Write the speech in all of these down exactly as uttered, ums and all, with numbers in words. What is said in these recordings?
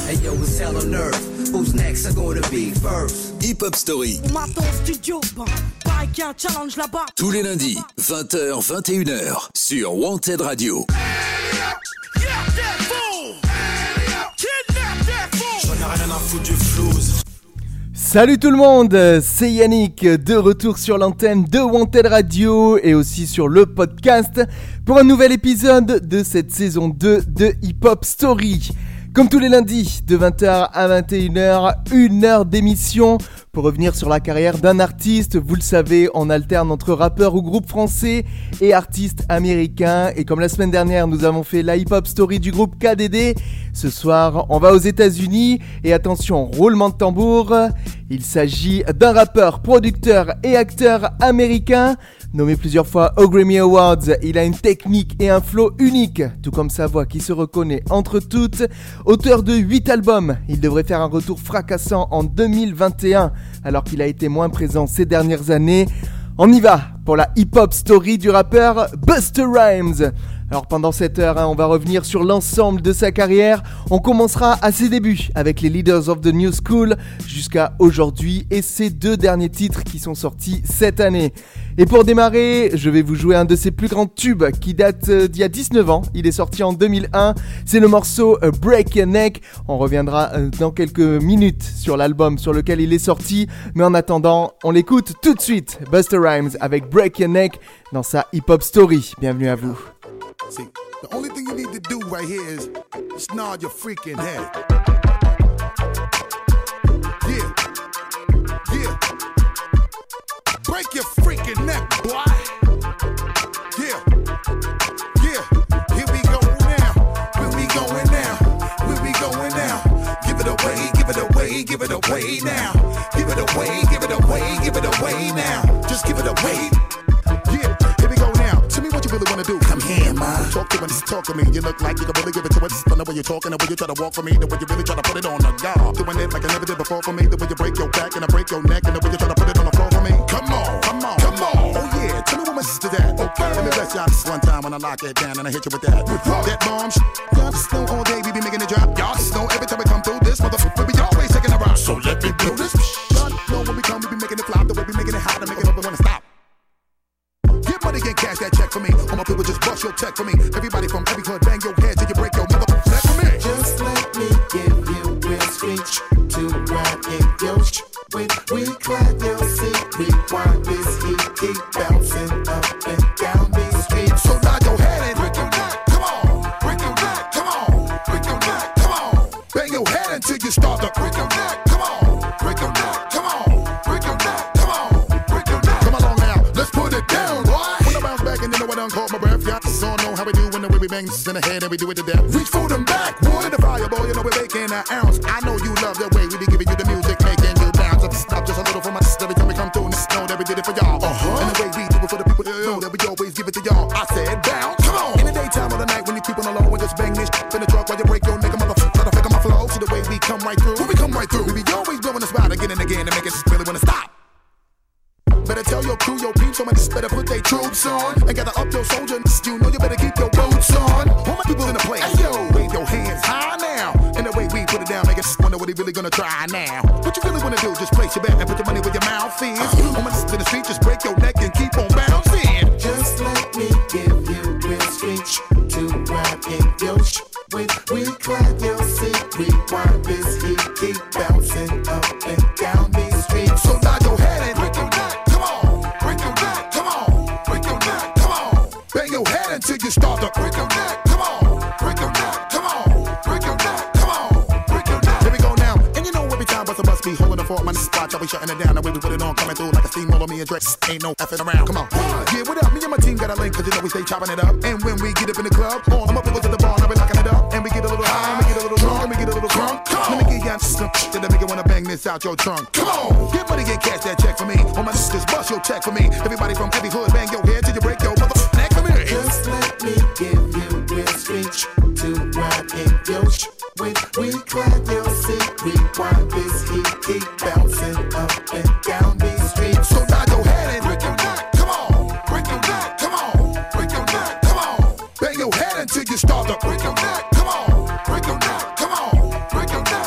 Hey yo, it's hell on earth. Who's next? I'm gonna be first. Hip Hop Story. On m'attend au studio, bah, pareil qu'il y a un challenge là-bas. Tous les lundis, vingt heures, vingt et une heures, sur Wanted Radio. Salut tout le monde, c'est Yannick, de retour sur l'antenne de Wanted Radio et aussi sur le podcast pour un nouvel épisode de cette saison deux de Hip Hop Story. Comme tous les lundis, de vingt heures à vingt et une heures, une heure d'émission pour revenir sur la carrière d'un artiste. Vous le savez, on alterne entre rappeurs ou groupes français et artistes américains. Et comme la semaine dernière, nous avons fait la Hip Hop Story du groupe K D D. Ce soir, on va aux États-Unis et attention, roulement de tambour. Il s'agit d'un rappeur, producteur et acteur américain. Nommé plusieurs fois aux Grammy Awards, il a une technique et un flow unique, tout comme sa voix qui se reconnaît entre toutes. Auteur de huit albums, il devrait faire un retour fracassant en deux mille vingt et un, alors qu'il a été moins présent ces dernières années. On y va pour la hip-hop story du rappeur Busta Rhymes. Alors pendant cette heure, hein, on va revenir sur l'ensemble de sa carrière. On commencera à ses débuts avec les Leaders of the New School jusqu'à aujourd'hui et ses deux derniers titres qui sont sortis cette année. Et pour démarrer, je vais vous jouer un de ses plus grands tubes qui date euh, d'il y a dix-neuf ans. Il est sorti en deux mille un. C'est le morceau euh, Break Your Neck. On reviendra euh, dans quelques minutes sur l'album sur lequel il est sorti. Mais en attendant, on l'écoute tout de suite. Busta Rhymes avec Break Your Neck dans sa Hip Hop Story. Bienvenue à vous. See, the only thing you need to do right here is just nod your freaking head. Yeah, yeah. Break your freaking neck, boy. Yeah, yeah. Here we go now. Where we going now? Where we going now? Give it away, give it away, give it away now. Give it away, give it away, give it away now. Just give it away. Yeah, here we go now. Tell me what you really wanna do. Come here, ma. Talk to me, talk to me. You look like you can really give it to us. But the way you're talking, the way you try to walk for me, the way you really try to put it on the guard. Doing it like I never did before for me. The way you break your back and I break your neck, and the way you try to put it on the floor for me. Come on, come on, come on. Oh yeah, tell me what my sister's at. Okay, let me bless y'all this one time when I lock it down and I hit you with that. With that bomb sh- Y'all just know all day we be making it drop. Y'all just know every time we come through this motherfucker, we be always taking a rock. So let me do this. Y'all know when we come, we be making it flop. The way we making it hot and making it up, we wanna stop. Get money, get cash, that check for me. All my people just bust your check for me. Everybody from every hood, bang your head till you break your motherfucking neck for me. Just let me give you real speech to ride in your sh- with recline your seat. Rewind this heat, keep bouncing up and down these streets. So nod your head and break your neck. Come on, break your neck. Come on, break your neck. Come on, bang your head until you start to break your neck. Come on, break your neck. Come on, break your neck. Come on, break your neck. Come along now, let's put it down. When I bounce back and you know I done caught my breath. Y'all just all know how we do when the way we bang this in the head and we do it to death. Reach for them back, wood the fireball, you know we're making an ounce. I know you love the way we be giving you the music, making you bounce. Let's stop just a little for my sister every time we come through. Just know that we did it for y'all. Uh-huh. And the way we do it for the people that know that we always give it to y'all. I said bounce, come on. In the daytime or the night when you keep on the low and just bang this shit in the truck while you break your nigga motherfucker. Try to fake on my flow. See the way we come right through. When we come right through, we be always blowing the spot again and again to make it really wanna stop. Better tell your crew, your peeps, somebody just better put their troops on and gather up your soldiers. You know you better keep your boots on. All my people in the place, hey, yo, wave your hands high now. And the way we put it down, make us wonder what they really gonna try now. What you really wanna do? Just place your bet and put your money where your mouth is. Uh-huh. On my to the street, just break your neck and keep on bouncing. Just let me give you real speech to ride in your sh- with recline your seat. Rewind this heat, keep bouncing up and down these streets. So nod your head and break your neck. Come on, break your neck. Come on, break your neck. Come on, bang your head until you start to break your neck. Come on, break your neck. Come on, break your neck. Come on, break your neck. Here we go now, and you know every time Busta must be holding the fort. My spot, y'all be shutting it down. The way we put it on, coming through like a steamroller. Me and Drake ain't no effing around. Come on, yeah, what up? Me and my team got a link, cause you know we stay chopping it up. And when we get up in the club, all my people to the bar, now we locking it up. And we get a little high, and we get a little drunk, and we get a little drunk. Let me get y'all some shit that make you wanna bang this out your trunk. Come on, get money, get cash, that check for me. All my sisters, bust your check for me. Everybody from every hood, bang your head till you break your motherfucking neck for me. Just let me give you real speech to ride in your sh- with recline your seat. Rewind this heat, keep bouncing up and down these streets. So nod your head and break your neck. Come on, break your neck. Come on, break your neck. Come on, bang your head until you start to break your neck. Come on, break your neck. Come on, break your neck.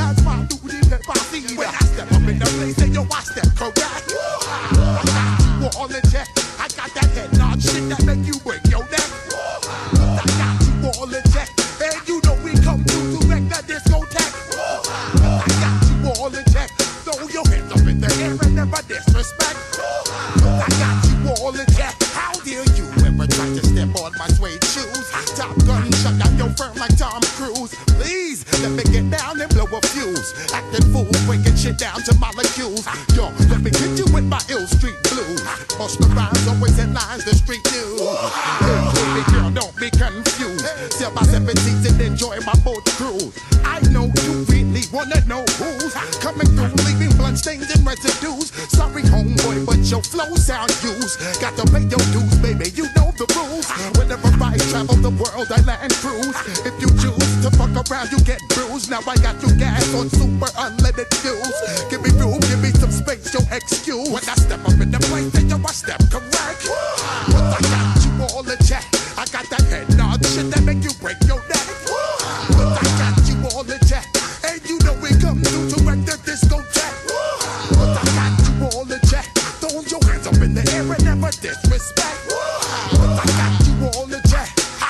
That's my duty if I see you. When I step up in the place, then yo, I step correct. I got you all in check. I got that head nod shit that make you break your neck. I got you all in check. And you know we come through to wreck the discotheque. I got you all in check. Throw your hands up in the air and never disrespect. I got you all in check. How dare you ever try to step on my suede shoes? Top Gun shut down your firm like Tom Cruise. Please let me get down and blow a fuse. Acting fool, breaking shit down to molecules. Yo, let me hit you with my ill street blues. Bust the rhymes, always in lines, the street news. Hey, baby girl, don't be confused. Sell my seventeens and enjoy my boat cruise. I know you really wanna know who's coming through, leaving bloodstains and residues. Sorry, homeboy, but your flow sound used. Got to pay your dues, baby, you know the rules. Whenever I travel the world, I land cruise. If you choose to fuck around, you get bruised. Now I got you gas on super unleaded fuels. Give me room, give me some space, your excuse. When I step up in the place, then yo, I step correct. But I got you all in check. I got that head nod shit that make you break your neck. But I got you all in check. And you know we come through to wreck the discotheque. But I got you all in check. Throw your hands up in the air and never disrespect. But I got you all in check.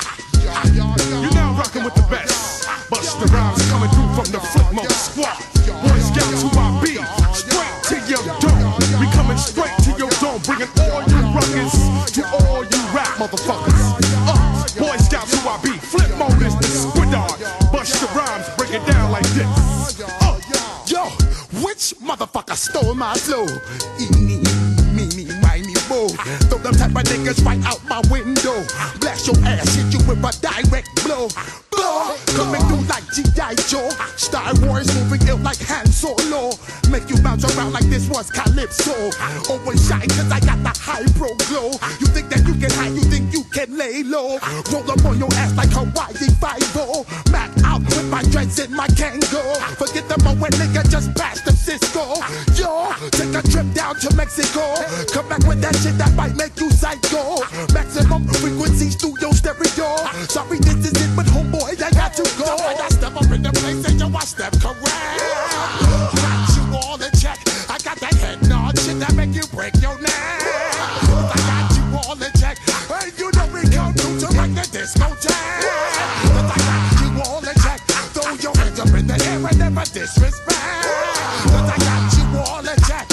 You're now rocking with the best. Busta Rhymes coming through from the Footmost Squad. Boy Scouts who I be. Straight to your dome. We coming straight to your dome. Bringing all you ruckus to all you rap motherfuckers. Uh, Boy Scouts who I be. Flip mode is the squidard. Busta Rhymes break it down like this. Uh, yo, which motherfucker stole my flow? Eeny, meeny, miny, mo. Throw them type of niggas right out my window. Blast your ass, hit you with a direct blow. Blow, coming through like G I Joe. Star Wars moving ill like Han Solo. Make you bounce around like this was Calypso. Always shine cause I got the high pro glow. You think that you can hide, you think you can lay low. Roll up on your ass like Hawaii Five-O. Mac out with my dreads in my Kango. Forget the moment nigga just passed the Cisco. Yo, take a trip down to Mexico. Come back with that shit that might make you psycho. Maximum frequency studio stereo. Sorry this is it but homeboy I got to go. When I step up in the place and yo I step correct. Got you all in check. I got that head nod shit that make you break your neck. I got you all in check. And you know we come through to wreck the discotheque. I got you all in check. Throw your hands up in the air and never disrespect. I got you all in check.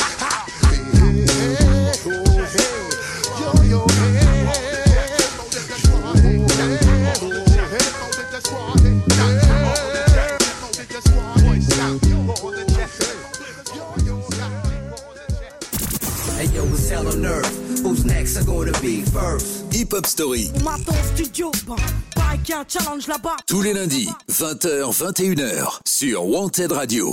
Yo, yo, hey. Hey yo, it's hell on earth. Who's next are gonna be first? Hip Hop Story. On m'attend au studio, bah, pareil qu'il y a un challenge là-bas. Tous les lundis, vingt heures vingt et une heures, sur Wanted Radio.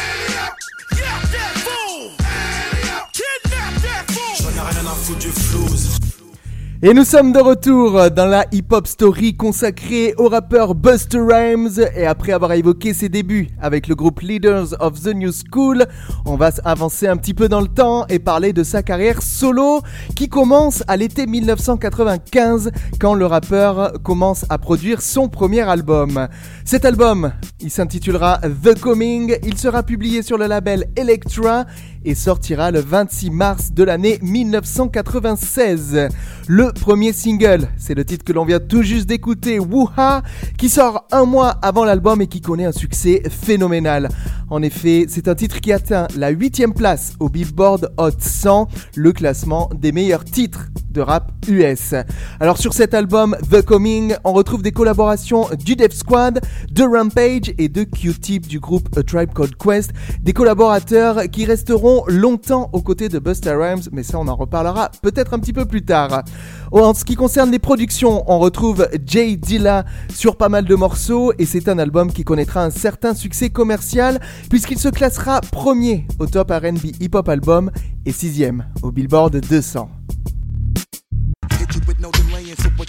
J'en ai rien à foutre du flouze. Et nous sommes de retour dans la hip-hop story consacrée au rappeur Busta Rhymes. Et après avoir évoqué ses débuts avec le groupe Leaders of the New School, on va avancer un petit peu dans le temps et parler de sa carrière solo qui commence à l'été dix-neuf cent quatre-vingt-quinze quand le rappeur commence à produire son premier album. Cet album, il s'intitulera The Coming, il sera publié sur le label Elektra et sortira le vingt-six mars de l'année dix-neuf cent quatre-vingt-seize. Le premier single, c'est le titre que l'on vient tout juste d'écouter, Woo-Ha, qui sort un mois avant l'album et qui connaît un succès phénoménal. En effet, c'est un titre qui atteint la huitième place au Billboard Hot cent, le classement des meilleurs titres de rap U S. Alors sur cet album The Coming, on retrouve des collaborations du Def Squad, de Rampage et de Q-Tip du groupe A Tribe Called Quest, des collaborateurs qui resteront longtemps aux côtés de Busta Rhymes, mais ça on en reparlera peut-être un petit peu plus tard. En ce qui concerne les productions, on retrouve Jay Dilla sur pas mal de morceaux et c'est un album qui connaîtra un certain succès commercial puisqu'il se classera premier au top R and B Hip Hop Album et sixième au Billboard deux cents. With no delaying, so what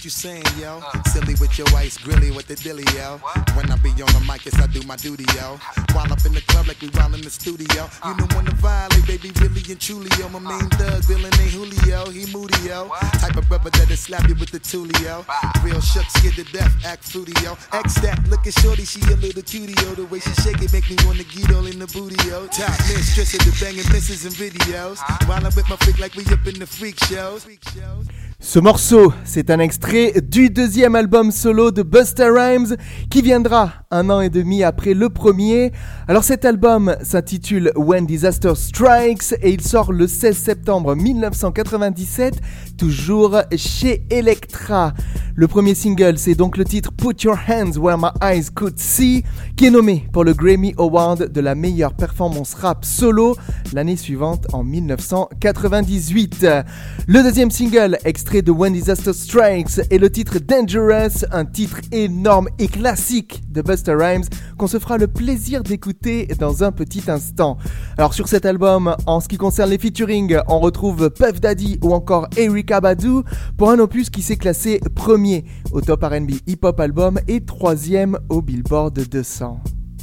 you saying, yo? Silly with your ice, grilly with the dilly, yo. When I be on the mic, yes, I do my duty, yo. While up in the club like we while in the studio. You know when to violate, baby, really and truly, yo. My main thug, villain ain't Julio, he moody, yo. Type of brother that'll slap you with the tulio. Real shook, scared to death, act fruity, yo. X that, looking shorty, she a little cutie, yo. The way she shake it make me wanna get all in the booty, yo. Top mistress of the banging misses and videos. While I'm with my freak like we up in the freak shows. Ce morceau, c'est un extrait du deuxième album solo de Busta Rhymes qui viendra un an et demi après le premier. Alors cet album s'intitule When Disaster Strikes et il sort le seize septembre mille neuf cent quatre-vingt-dix-sept, toujours chez Elektra. Le premier single, c'est donc le titre Put Your Hands Where My Eyes Could See, qui est nommé pour le Grammy Award de la meilleure performance rap solo l'année suivante en mille neuf cent quatre-vingt-dix-huit. Le deuxième single, extrait de When Disaster Strikes, est le titre Dangerous, un titre énorme et classique de Busta Rhymes qu'on se fera le plaisir d'écouter dans un petit instant. Alors sur cet album, en ce qui concerne les featuring, on retrouve Puff Daddy ou encore Erykah Badu pour un opus qui s'est classé premier au Top R and B Hip Hop Album et troisième au Billboard deux cents.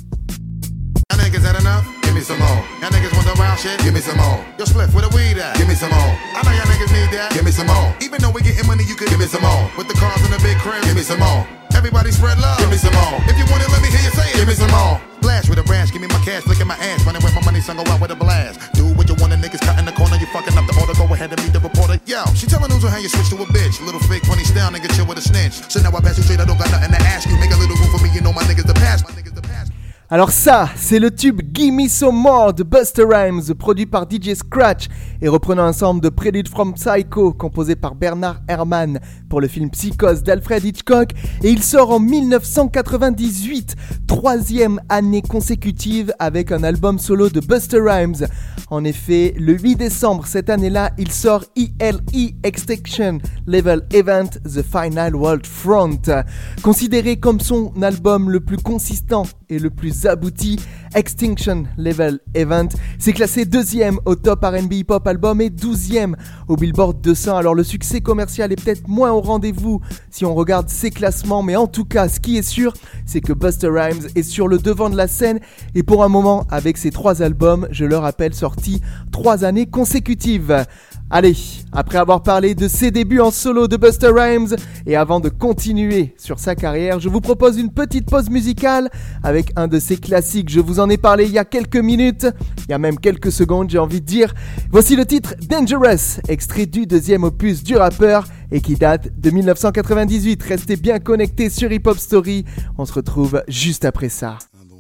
Give me some more. Y'all niggas want the wild shit? Give me some more. Yo, Spliff, where the weed at? Give me some more. I know y'all niggas need that. Give me some more. Even though we getting money, you could give me some more. With the cars in the big crib, give me some more. Everybody spread love. Give me some more. If you want it, let me hear you say it. Give me some more. Blast with a rash, give me my cash, look at my ass. Running with my money, son, go out with a blast. Do what you want, the niggas cut in the corner. You fucking up the order, go ahead and meet the reporter. Yo, she telling news on how you switch to a bitch. Little fake funny style, nigga chill with a snitch. So now I pass you straight, I don't got nothing to ask you. Make a little room for me, you know my niggas the past. My niggas the past. Alors ça, c'est le tube Gimme Some More de Busta Rhymes, produit par D J Scratch et reprenant un sample de Prelude from Psycho, composé par Bernard Herrmann pour le film Psychose d'Alfred Hitchcock, et il sort en mille neuf cent quatre-vingt-dix-huit, troisième année consécutive avec un album solo de Busta Rhymes. En effet, le huit décembre cette année-là, il sort E L E Extinction Level Event The Final World Front. Considéré comme son album le plus consistant et le plus abouti, Extinction Level Event s'est classé deuxième au Top R and B Hip Hop Album et douzième au Billboard deux cents. Alors le succès commercial est peut-être moins au rendez-vous si on regarde ces classements, mais en tout cas ce qui est sûr, c'est que Busta Rhymes est sur le devant de la scène et pour un moment avec ses trois albums, je le rappelle, sortis trois années consécutives. Allez, après avoir parlé de ses débuts en solo de Busta Rhymes et avant de continuer sur sa carrière, je vous propose une petite pause musicale avec un de ses classiques. Je vous en ai parlé il y a quelques minutes, il y a même quelques secondes, j'ai envie de dire. Voici le titre Dangerous, extrait du deuxième opus du rappeur et qui date de mille neuf cent quatre-vingt-dix-huit. Restez bien connectés sur Hip Hop Story, on se retrouve juste après ça.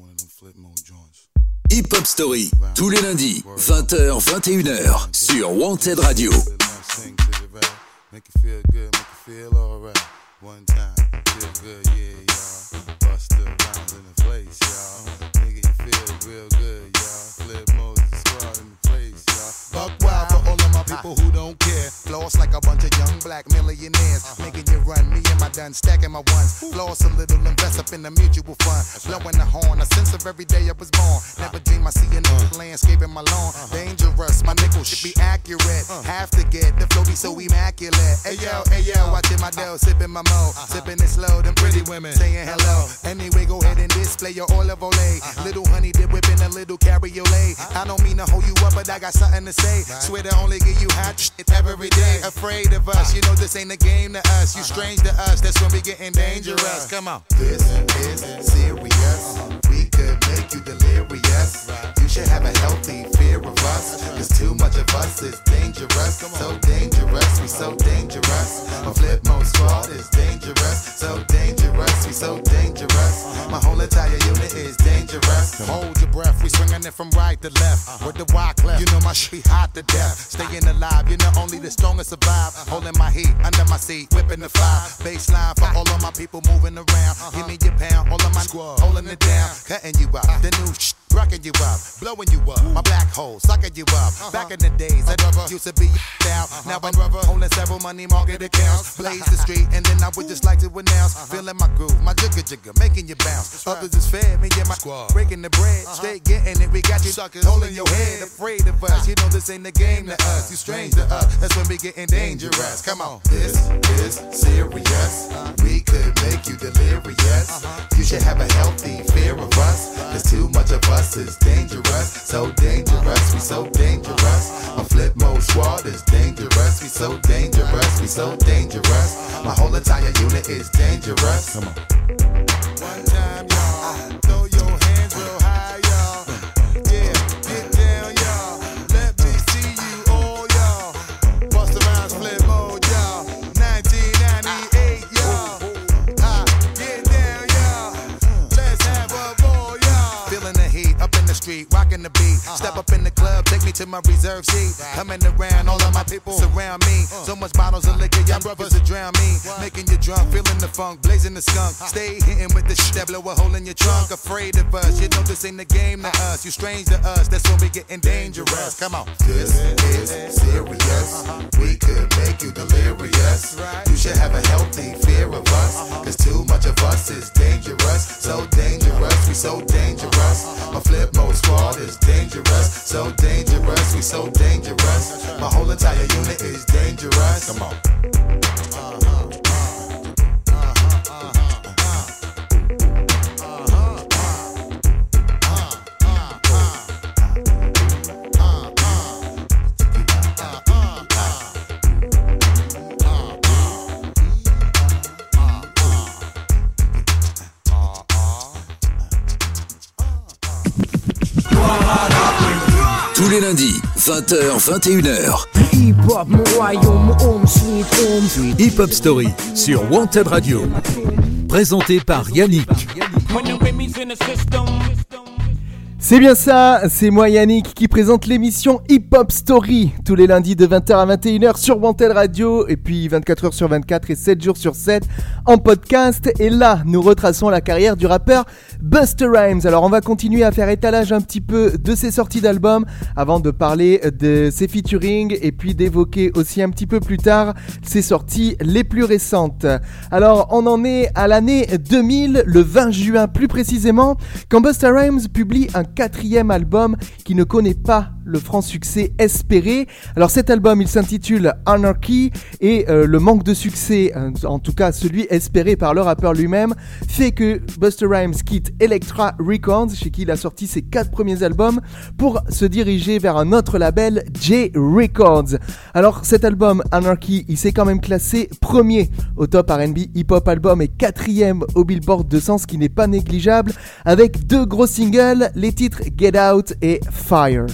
Hip Hop Story, tous les lundis, vingt heures, vingt et une heures, sur Wanted Radio. People who don't care, floss like a bunch of young black millionaires, making you run. Me and my done stacking my ones. Floss a little, invest up in the mutual fund. Blowing the horn, a sense of every day I was born. Never dream I see another landscape in my lawn. Dangerous, my nickel should be accurate. Have to get the flow be so immaculate. Hey yo, hey yo, watching my dough, sipping my mo, sipping it slow. Them pretty women saying hello. Anyway, go ahead and display your olive oil. Little honey dip whipping a little cabriolet. I don't mean to hold you up, but I got something to say. Swear to only give you hot shit every day. Afraid of us, you know this ain't a game to us. You strange to us, that's when we getting dangerous. Come on. This is serious. We could make you delirious. You should have a healthy fear of us. Cause too much of us is dangerous. So dangerous, we so dangerous. My flip mode squad is dangerous. So dangerous, we so dangerous. My whole entire unit is dangerous. Hold your breath, we swinging it from right to left. With the rock left, you know my shit hot to death. Staying alive, you know only the strongest survive. Holding my heat under my seat, whipping the fire. Baseline for all of my people moving around. Give me your pound, all of my squad holding it down. Cutting you out, the new shit rocking you up, blowing you up. My black hole, sucking you up. Uh-huh. Back in the days, I uh-huh. used to be out. Uh-huh. Now I'm uh-huh. holding several money market accounts. Blaze the street, and then I would just like to announce. Uh-huh. Feeling my groove, my jigger jigger, making you bounce. Right. Others is fair, me and my squad breaking the bread. Uh-huh. Stay getting it, we got you suckers holding your head. Afraid of us, you know this ain't the game to us. You strange to us, that's when we getting dangerous. Come on, this is serious. We could make you delirious. Uh-huh. You should have a healthy fear of us. Cause too much of us is dangerous. So dangerous, we so dangerous. My flip mode squad is dangerous. We so dangerous, we so dangerous. My whole entire unit is dangerous. Come on. One time, y'all, throw your hands real high, y'all. Yeah, get down, y'all. Let me see you all, y'all. Bust around, flip mode, y'all. nineteen ninety-eight, y'all. Ah, get down, y'all. Let's have a ball, y'all. Feeling the heat up in the street, rocking the beat. Step up in the club, take me to my reserve seat. Coming around, all of my people surround me. So much bottles of liquor, y'all brothers will drown me. Making you drunk, feeling the funk, blazing the skunk. Stay hitting with the shit that blow a hole in your trunk. Afraid of us, you know this ain't the game to us. You strange to us, that's when we getting dangerous. Come on. This is serious. We could make you delirious. You should have a healthy fear of us. Cause too much of us is dangerous. So dangerous, we so dangerous. My flip mode squad is dangerous. So dangerous, we so dangerous. My whole entire unit is dangerous. Come on. Tous les lundis, vingt heures vingt et une heures. Hip Hop Story sur Wanted Radio. Présenté par Yannick. C'est bien ça, c'est moi Yannick qui présente l'émission Hip Hop Story tous les lundis de vingt heures à vingt et une heures sur Wanted Radio et puis vingt-quatre heures sur vingt-quatre et sept jours sur sept en podcast. Et là, nous retraçons la carrière du rappeur Busta Rhymes. Alors on va continuer à faire étalage un petit peu de ses sorties d'albums avant de parler de ses featuring et puis d'évoquer aussi un petit peu plus tard ses sorties les plus récentes. Alors on en est à l'année deux mille, le vingt juin plus précisément, quand Busta Rhymes publie un quatrième album qui ne connaît pas le franc succès espéré. Alors cet album il s'intitule Anarchy et euh, le manque de succès, euh, en tout cas celui espéré par le rappeur lui-même, fait que Busta Rhymes quitte Elektra Records, chez qui il a sorti ses quatre premiers albums, pour se diriger vers un autre label, J Records. Alors cet album Anarchy, il s'est quand même classé premier au top R and B Hip Hop Album et quatrième au Billboard deux cents, ce qui n'est pas négligeable, avec deux gros singles, les titres Get Out et Fire.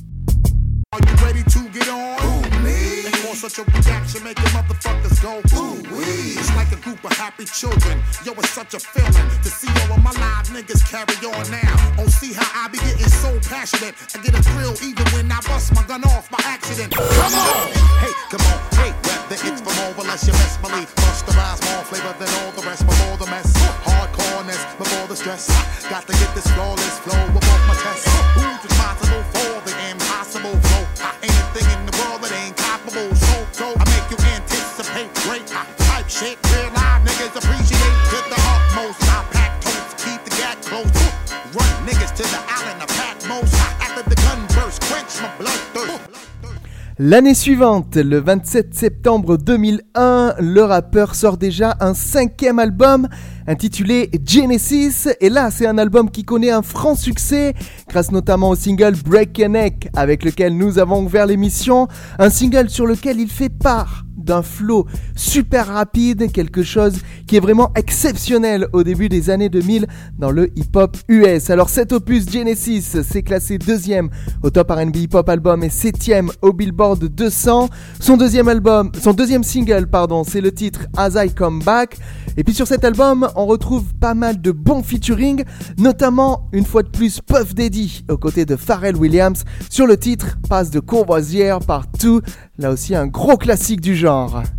Are you ready to get on? Ooh, me. And for such a reaction, make the motherfuckers go, ooh, wee. It's like a group of happy children. Yo, it's such a feeling to see all of my live niggas carry on now. Oh, see how I be getting so passionate. I get a thrill even when I bust my gun off by accident. Come on! Hey, come on, hey, rap the hits from over, unless you best believe. Bust the rise, more flavor than all the rest. Before the mess, hardcoreness, before the stress. Got to get this flawless flow above my chest. Who's responsible for the impossible flow? Ain't a thing in the world that ain't comparable. So, so I make you anticipate great type shit. Real live niggas appreciate to the utmost. I pack totes, keep the gat close. Run niggas to the island, I pack most. After the gun burst, quench my bloodthirst. L'année suivante, le vingt-sept septembre deux mille un, le rappeur sort déjà un cinquième album intitulé Genesis. Et là, c'est un album qui connaît un franc succès grâce notamment au single Break Your Neck avec lequel nous avons ouvert l'émission. Un single sur lequel il fait part d'un flow super rapide, quelque chose qui est vraiment exceptionnel au début des années deux mille dans le hip-hop U S. Alors cet opus Genesis s'est classé deuxième au top R and B hip-hop album et septième au Billboard deux cents. Son deuxième album, son deuxième single, pardon, c'est le titre As I Come Back. Et puis sur cet album, on retrouve pas mal de bons featuring, notamment une fois de plus Puff Daddy aux côtés de Pharrell Williams sur le titre Passe de Courvoisière par Two. Là aussi un gros classique du genre.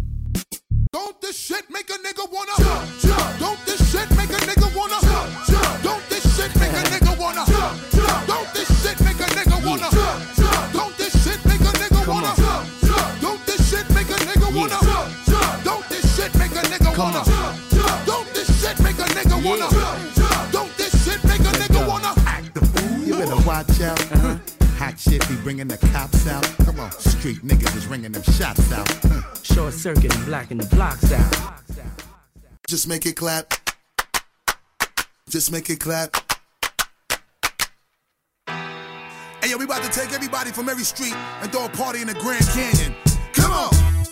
Don't this shit make a nigga wanna jump, jump. Don't this shit make a nigga wanna jump, jump. Don't this shit make a nigga wanna jump, jump. Don't Hot shit be bringing the cops out. Come on, street niggas is ringing them shots out. Short circuit and blacking the blocks out. Just make it clap. Just make it clap. Hey yo, we about to take everybody from every street and throw a party in the Grand Canyon. Come on!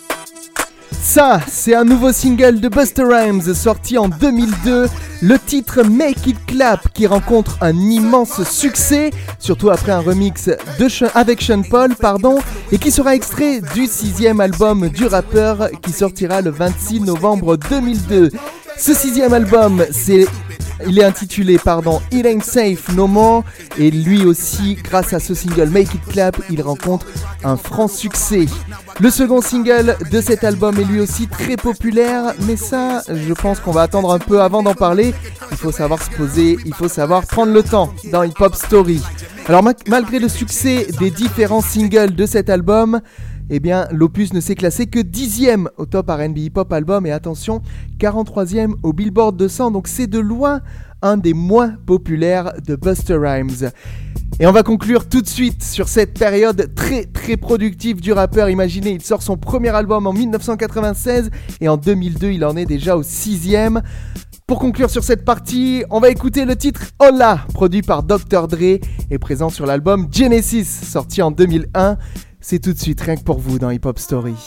Ça, c'est un nouveau single de Busta Rhymes sorti en deux mille deux, le titre Make It Clap qui rencontre un immense succès, surtout après un remix de Sh- avec Sean Paul, pardon, et qui sera extrait du sixième album du rappeur qui sortira le vingt-six novembre deux mille deux. Ce sixième album, c'est... Il est intitulé, pardon, It Ain't Safe No More, et lui aussi, grâce à ce single Make It Clap, il rencontre un franc succès. Le second single de cet album est lui aussi très populaire, mais ça, je pense qu'on va attendre un peu avant d'en parler. Il faut savoir se poser, il faut savoir prendre le temps dans Hip Hop Story. Alors ma- malgré le succès des différents singles de cet album, eh bien, l'opus ne s'est classé que dixième au top R and B Hip Hop Album et attention, quarante-troisième au Billboard deux cents, donc c'est de loin un des moins populaires de Busta Rhymes. Et on va conclure tout de suite sur cette période très très productive du rappeur. Imaginez, il sort son premier album en dix-neuf cent quatre-vingt-seize et en deux mille deux, il en est déjà au sixième. Pour conclure sur cette partie, on va écouter le titre Holla, produit par docteur Dre et présent sur l'album Genesis, sorti en deux mille un. C'est tout de suite, rien que pour vous dans Hip Hop Story.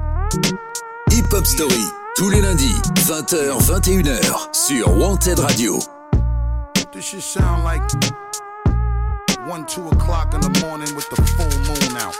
Hip Hop Story, tous les lundis, vingt heures, vingt et une heures, sur Wanted Radio. This shit sound like one, two o'clock in the morning with the full moon out.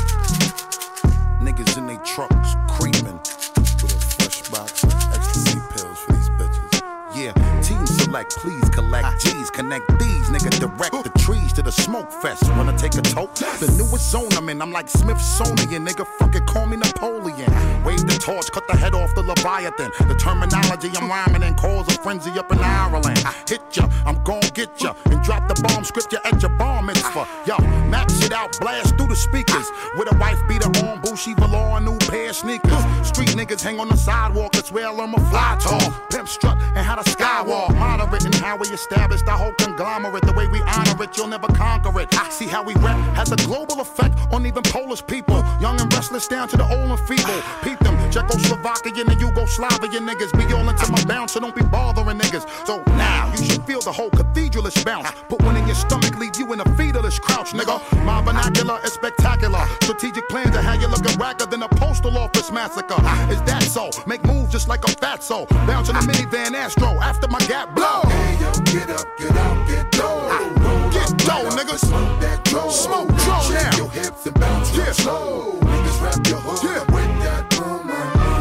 Niggas in they trucks creeping with a fresh box of ecstasy pills for these bitches. Yeah, team select, please collect G's, connect these, nigga, direct the trees to the smoke fest. Wanna take a toke? The newest zone I'm in, I'm like Smithsonian, nigga, fucking call me Napoleon. Wave the torch, cut the head off the Leviathan. The terminology I'm rhyming in cause a frenzy up in Ireland. I hit ya, I'm gon' get ya, and drop the bomb script ya at your bar mitzvah. Yo, max it out, blast through the speakers. With a wife beater on, Bushy velour, a new pair of sneakers. Street niggas hang on the sidewalk, that's where I'm a fly tall. Pimp strut and how the skywalk. Moderate and how we established the whole conglomerate. The way we honor it, you'll never conquer it. I see how we rap has a global effect on even Polish people. Young and restless down to the old and feeble. Peep them, Czechoslovakian and Yugoslavian niggas. Be all into my bounce, so don't be bothering niggas. So now, you should feel the whole cathedralish bounce. Put one in your stomach, leave you in a fetalish crouch, nigga. My vernacular is spectacular. Strategic plans are how you looking racker than a postal office massacre. Is that so? Make moves just like a fatso. Bounce in a minivan Astro after my gap blow. Hey yo, get up, get out, get dough. Get dough, niggas. Smoke that dough. Smoke dough Shake now. your hips and bounce real Yeah. slow. Niggas rap your hood Yeah. with that boom.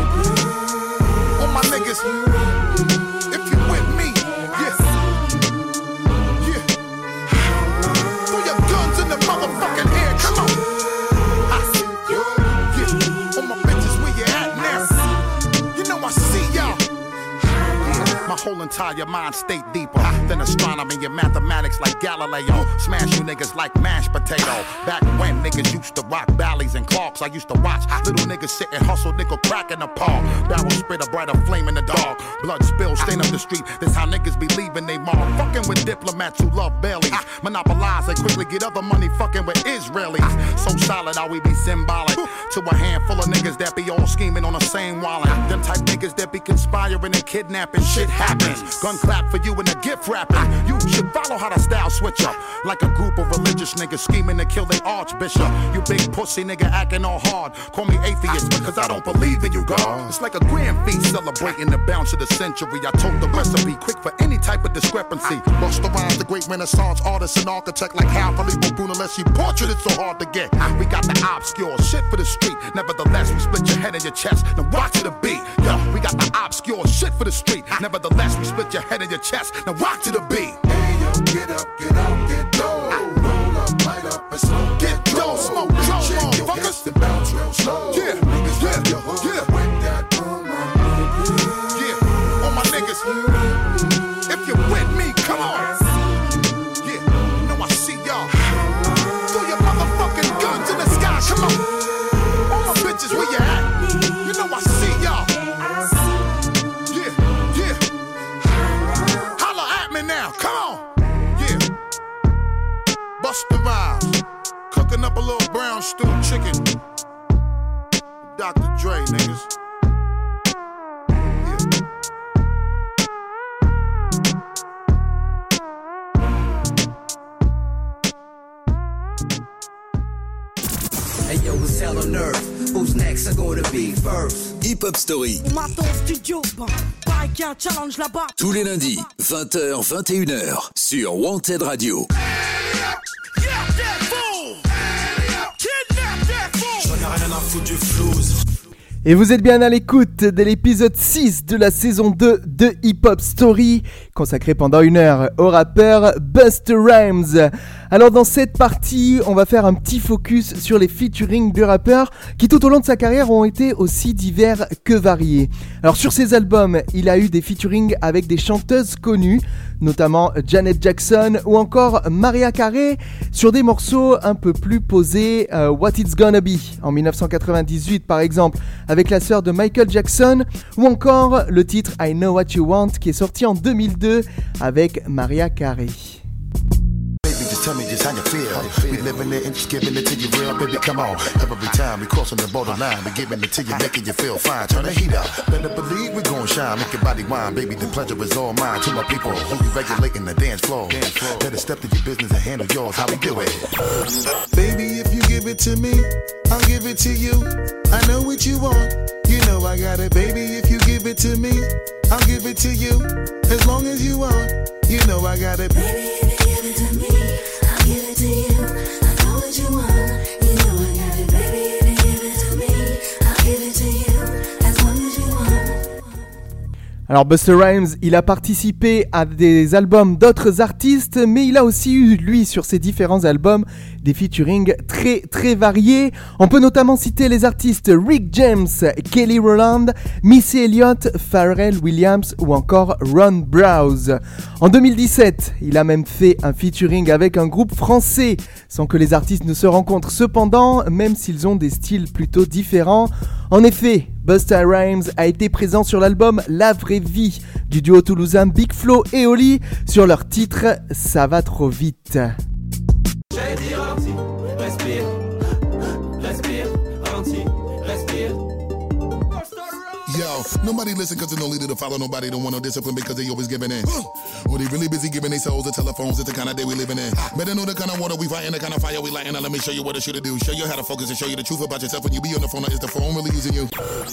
All my niggas, if you with me, yeah, yeah. Throw your guns in the motherfucking air, come on. I see you, yeah. All my bitches, where you at now? You know I see y'all. My whole entire mind state deeper than astronomy and mathematics like Galileo. Smash you niggas like mashed potato. Back when niggas used to rock Bally's and Clarks, I used to watch little niggas sit and hustle, nickel crack in the paw. Barrel spit a brighter flame in the dark. Blood spill, stain up the street. That's how niggas be leaving they mom. Fucking with diplomats who love bellies. Monopolize and quickly get other money fucking with Israelis. So solid how we be symbolic to a handful of niggas that be all scheming on the same wallet. Them type niggas that be conspiring and kidnapping. Shit happens. Gun clap for you and a gift wrapping. You should follow how the style switch up. Like a group of religious niggas scheming to kill their archbishop. You big pussy nigga acting all hard. Call me atheist because I don't believe in you, God. It's like a grand feast celebrating the bounce of the century. I told the recipe quick for any type of discrepancy. Busta Rhymes, the great Renaissance artist and architect, like how Filippo Brunelleschi portrait it's so hard to get. We got the obscure shit for the street. Nevertheless, we split your head and your chest. Now rock to the beat. Yo, we got the obscure shit for the street. Nevertheless, we split your head and your chest. Now rock to the beat. Hey yo, get up, get out, get dough. Roll up, light up, and smoke. Get dough, smoke dough, Shake your motherfuckers. hips and bounce real slow. Yeah, Niggas yeah, rap your hood yeah. with that boom. Yeah, all my niggas. If you're with me, come on. Yeah, you know I see y'all. Throw your motherfucking guns in the sky, come on. All my bitches, where you at? You know I see y'all. Yeah, yeah. Holla at me now, come on. Yeah, chicken. Doctor Dre, niggas. Hey yo, it's hell on earth. Who's next are gonna be first? Hip Hop Story. On m'attend au studio, bah, pareil qu'il y a un challenge là-bas. Tous les lundis, vingt heures, vingt et une heures, sur Wanted Radio. Et vous êtes bien à l'écoute de l'épisode six de la saison deux de Hip Hop Story, consacré pendant une heure au rappeur Busta Rhymes. Alors dans cette partie, on va faire un petit focus sur les featuring du rappeur qui tout au long de sa carrière ont été aussi divers que variés. Alors sur ses albums, il a eu des featuring avec des chanteuses connues, notamment Janet Jackson ou encore Mariah Carey, sur des morceaux un peu plus posés, euh, What It's Gonna Be en dix-neuf cent quatre-vingt-dix-huit par exemple, avec la sœur de Michael Jackson, ou encore le titre I Know What You Want qui est sorti en deux mille deux avec Mariah Carey. Tell me just how you feel. We living it and just giving it to you real, baby. Come on. Every time we crossing the borderline, we giving it to you, making you feel fine. Turn the heat up. Better believe we gon' shine. Make your body wine, baby. The pleasure is all mine. To my people who be regulating the dance floor. Better step to your business and handle yours. How we do it? Baby, if you give it to me, I'll give it to you. I know what you want. You know I got it, baby. If you give it to me, I'll give it to you. As long as you want, you know I got it, baby. If you give it to me, give it to you. I know what you want. You know I got it, baby. If you give it to me, I'll give it to you. As long as you want. Alors Busta Rhymes, il a participé à des albums d'autres artistes, mais il a aussi eu, lui, sur ses différents albums, des featuring très très variés. On peut notamment citer les artistes Rick James, Kelly Rowland, Missy Elliott, Pharrell Williams ou encore Ron Browse. En deux mille dix-sept, il a même fait un featuring avec un groupe français, sans que les artistes ne se rencontrent cependant, même s'ils ont des styles plutôt différents. En effet, Busta Rhymes a été présent sur l'album La Vraie Vie du duo toulousain Big Flo et Oli sur leur titre Ça va trop vite. Respire, respire, ralentis, respire. Yo, nobody listen cause there's no leader to follow. Nobody don't want no discipline because they always giving in. Or they really busy giving their souls to telephones. It's the kind of day we living in. Better know the kind of water we fighting, the kind of fire we lighting. Now let me show you what it should do. Show you how to focus and show you the truth about yourself. When you be on the phone, is the phone really using you?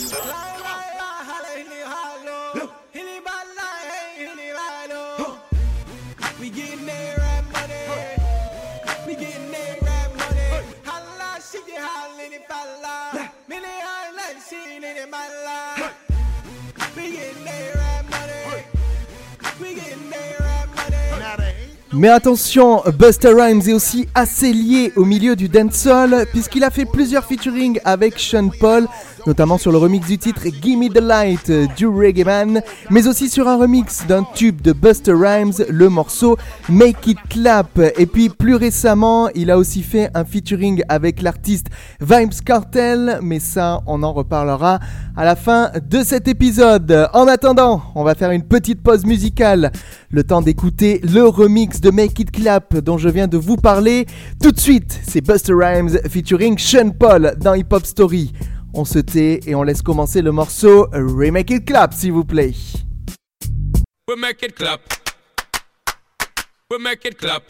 We getting there right money. We getting there right money. Holla, she get hollin' if I lie. Many highlight, she ain't in my life. We getting there right money. We getting there right money. Mais attention, Busta Rhymes est aussi assez lié au milieu du dancehall puisqu'il a fait plusieurs featuring avec Sean Paul, notamment sur le remix du titre Gimme the Light du Reggae Man, mais aussi sur un remix d'un tube de Busta Rhymes, le morceau Make It Clap. Et puis plus récemment, il a aussi fait un featuring avec l'artiste Vybz Kartel, mais ça, on en reparlera à la fin de cet épisode. En attendant, on va faire une petite pause musicale, le temps d'écouter le remix de Make It Clap dont je viens de vous parler. Tout de suite, c'est Busta Rhymes featuring Sean Paul dans Hip Hop Story. On se tait et on laisse commencer le morceau Remake It Clap, s'il vous plaît. We make it clap. We make it clap.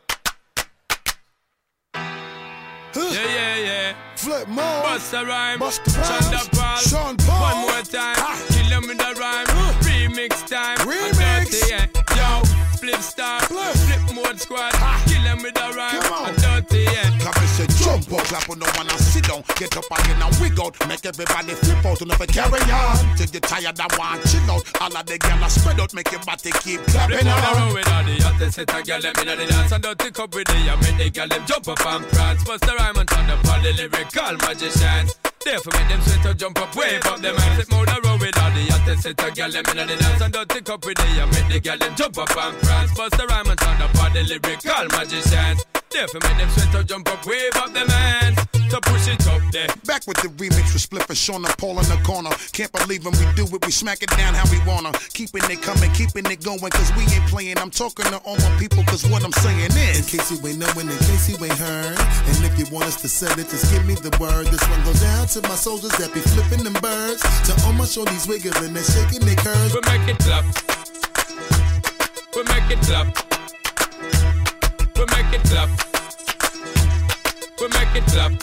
Yeah, yeah, yeah. Flip mode. Busta Rhymes. Busta Rhymes. Sean Paul. Sean Paul. One more time. Ah. Kill them with the rhyme. Uh. Remix time. Remix. Dirty, yeah. Yo, flip star. Flip. Flip mode squad. Ah. Kill them with the rhyme. Come on. Dirty, yeah. Clap and say jump up, clap on no one and sit down. Get up again and wig out. Make everybody flip out and if carry on. Till you tired and want chill out. All of the gyal spread out, make your body keep clapping Flip on the on. road with all the hottest set of gyal them inna the dance and dirty cup with the I make the gyal them jump up and prance. Busta Rhymes and turn up all the lyrical magicians. Therefore make them sweat to jump up, wave up them hands. Flip on the road with all the hottest set of gyal them inna the dance and dirty cup with the I make the gyal them jump up and prance. Busta Rhymes and turn up all the lyrical magicians. Therefore make them sweat to jump up, wave up them hands. So push it up there, back with the remix with Spliff and Sean and Paul in the corner. Can't believe when we do it, we smack it down how we wanna. Keeping it coming, keeping it going, cause we ain't playing. I'm talking to all my people, cause what I'm saying is, in case you ain't knowing, in case you ain't heard, and if you want us to sell it, just give me the word. This one goes out to my soldiers that be flipping them birds, to all my shorties wiggling and shaking their curves. We make it clap. We make it clap. We make it clap. We make it clap.